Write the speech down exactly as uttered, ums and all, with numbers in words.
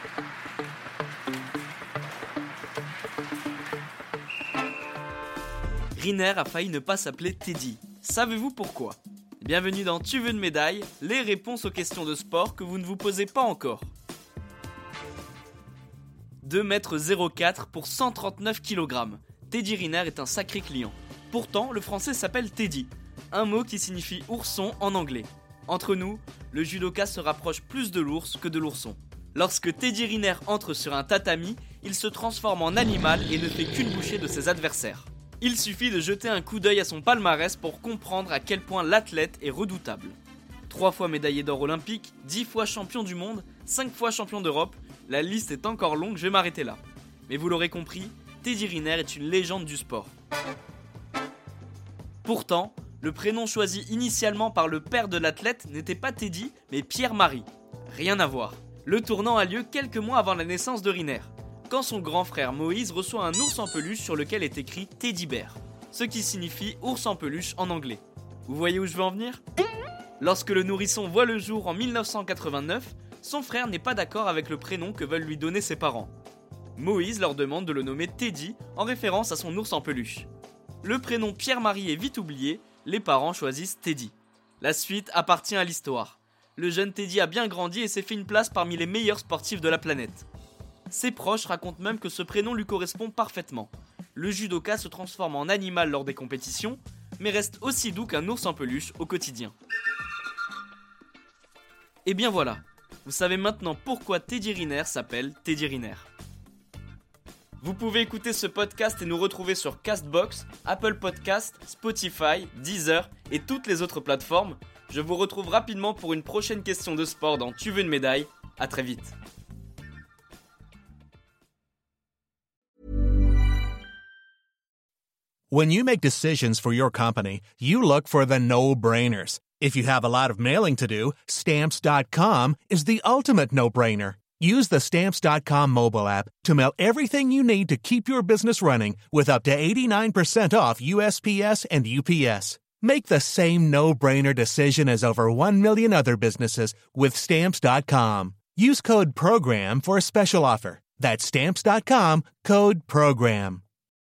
Riner a failli ne pas s'appeler Teddy. Savez-vous pourquoi ? Bienvenue dans Tu veux une médaille ? Les réponses aux questions de sport que vous ne vous posez pas encore. deux mètres zéro quatre pour cent trente-neuf kilogrammes. Teddy Riner est un sacré client. Pourtant, le français s'appelle Teddy, un mot qui signifie ourson en anglais. Entre nous, le judoka se rapproche plus de l'ours que de l'ourson. Lorsque Teddy Riner entre sur un tatami, il se transforme en animal et ne fait qu'une bouchée de ses adversaires. Il suffit de jeter un coup d'œil à son palmarès pour comprendre à quel point l'athlète est redoutable. Trois fois médaillé d'or olympique, dix fois champion du monde, cinq fois champion d'Europe, la liste est encore longue, je vais m'arrêter là. Mais vous l'aurez compris, Teddy Riner est une légende du sport. Pourtant, le prénom choisi initialement par le père de l'athlète n'était pas Teddy, mais Pierre-Marie. Rien à voir. Le tournant a lieu quelques mois avant la naissance de Riner, quand son grand frère Moïse reçoit un ours en peluche sur lequel est écrit Teddy Bear, ce qui signifie ours en peluche en anglais. Vous voyez où je veux en venir ? Lorsque le nourrisson voit le jour en mille neuf cent quatre-vingt-neuf, son frère n'est pas d'accord avec le prénom que veulent lui donner ses parents. Moïse leur demande de le nommer Teddy en référence à son ours en peluche. Le prénom Pierre-Marie est vite oublié, les parents choisissent Teddy. La suite appartient à l'histoire. Le jeune Teddy a bien grandi et s'est fait une place parmi les meilleurs sportifs de la planète. Ses proches racontent même que ce prénom lui correspond parfaitement. Le judoka se transforme en animal lors des compétitions, mais reste aussi doux qu'un ours en peluche au quotidien. Et bien voilà, vous savez maintenant pourquoi Teddy Riner s'appelle Teddy Riner. Vous pouvez écouter ce podcast et nous retrouver sur Castbox, Apple Podcast, Spotify, Deezer et toutes les autres plateformes. Je vous retrouve rapidement pour une prochaine question de sport dans Tu veux une médaille. À très vite. When you make decisions for your company, you look for the no-brainers. If you have a lot of mailing to do, Stamps dot com is the ultimate no-brainer. Use the Stamps dot com mobile app to mail everything you need to keep your business running with up to eighty-nine percent off U S P S and U P S. Make the same no-brainer decision as over one million other businesses with Stamps dot com. Use code PROGRAM for a special offer. That's Stamps dot com, code PROGRAM.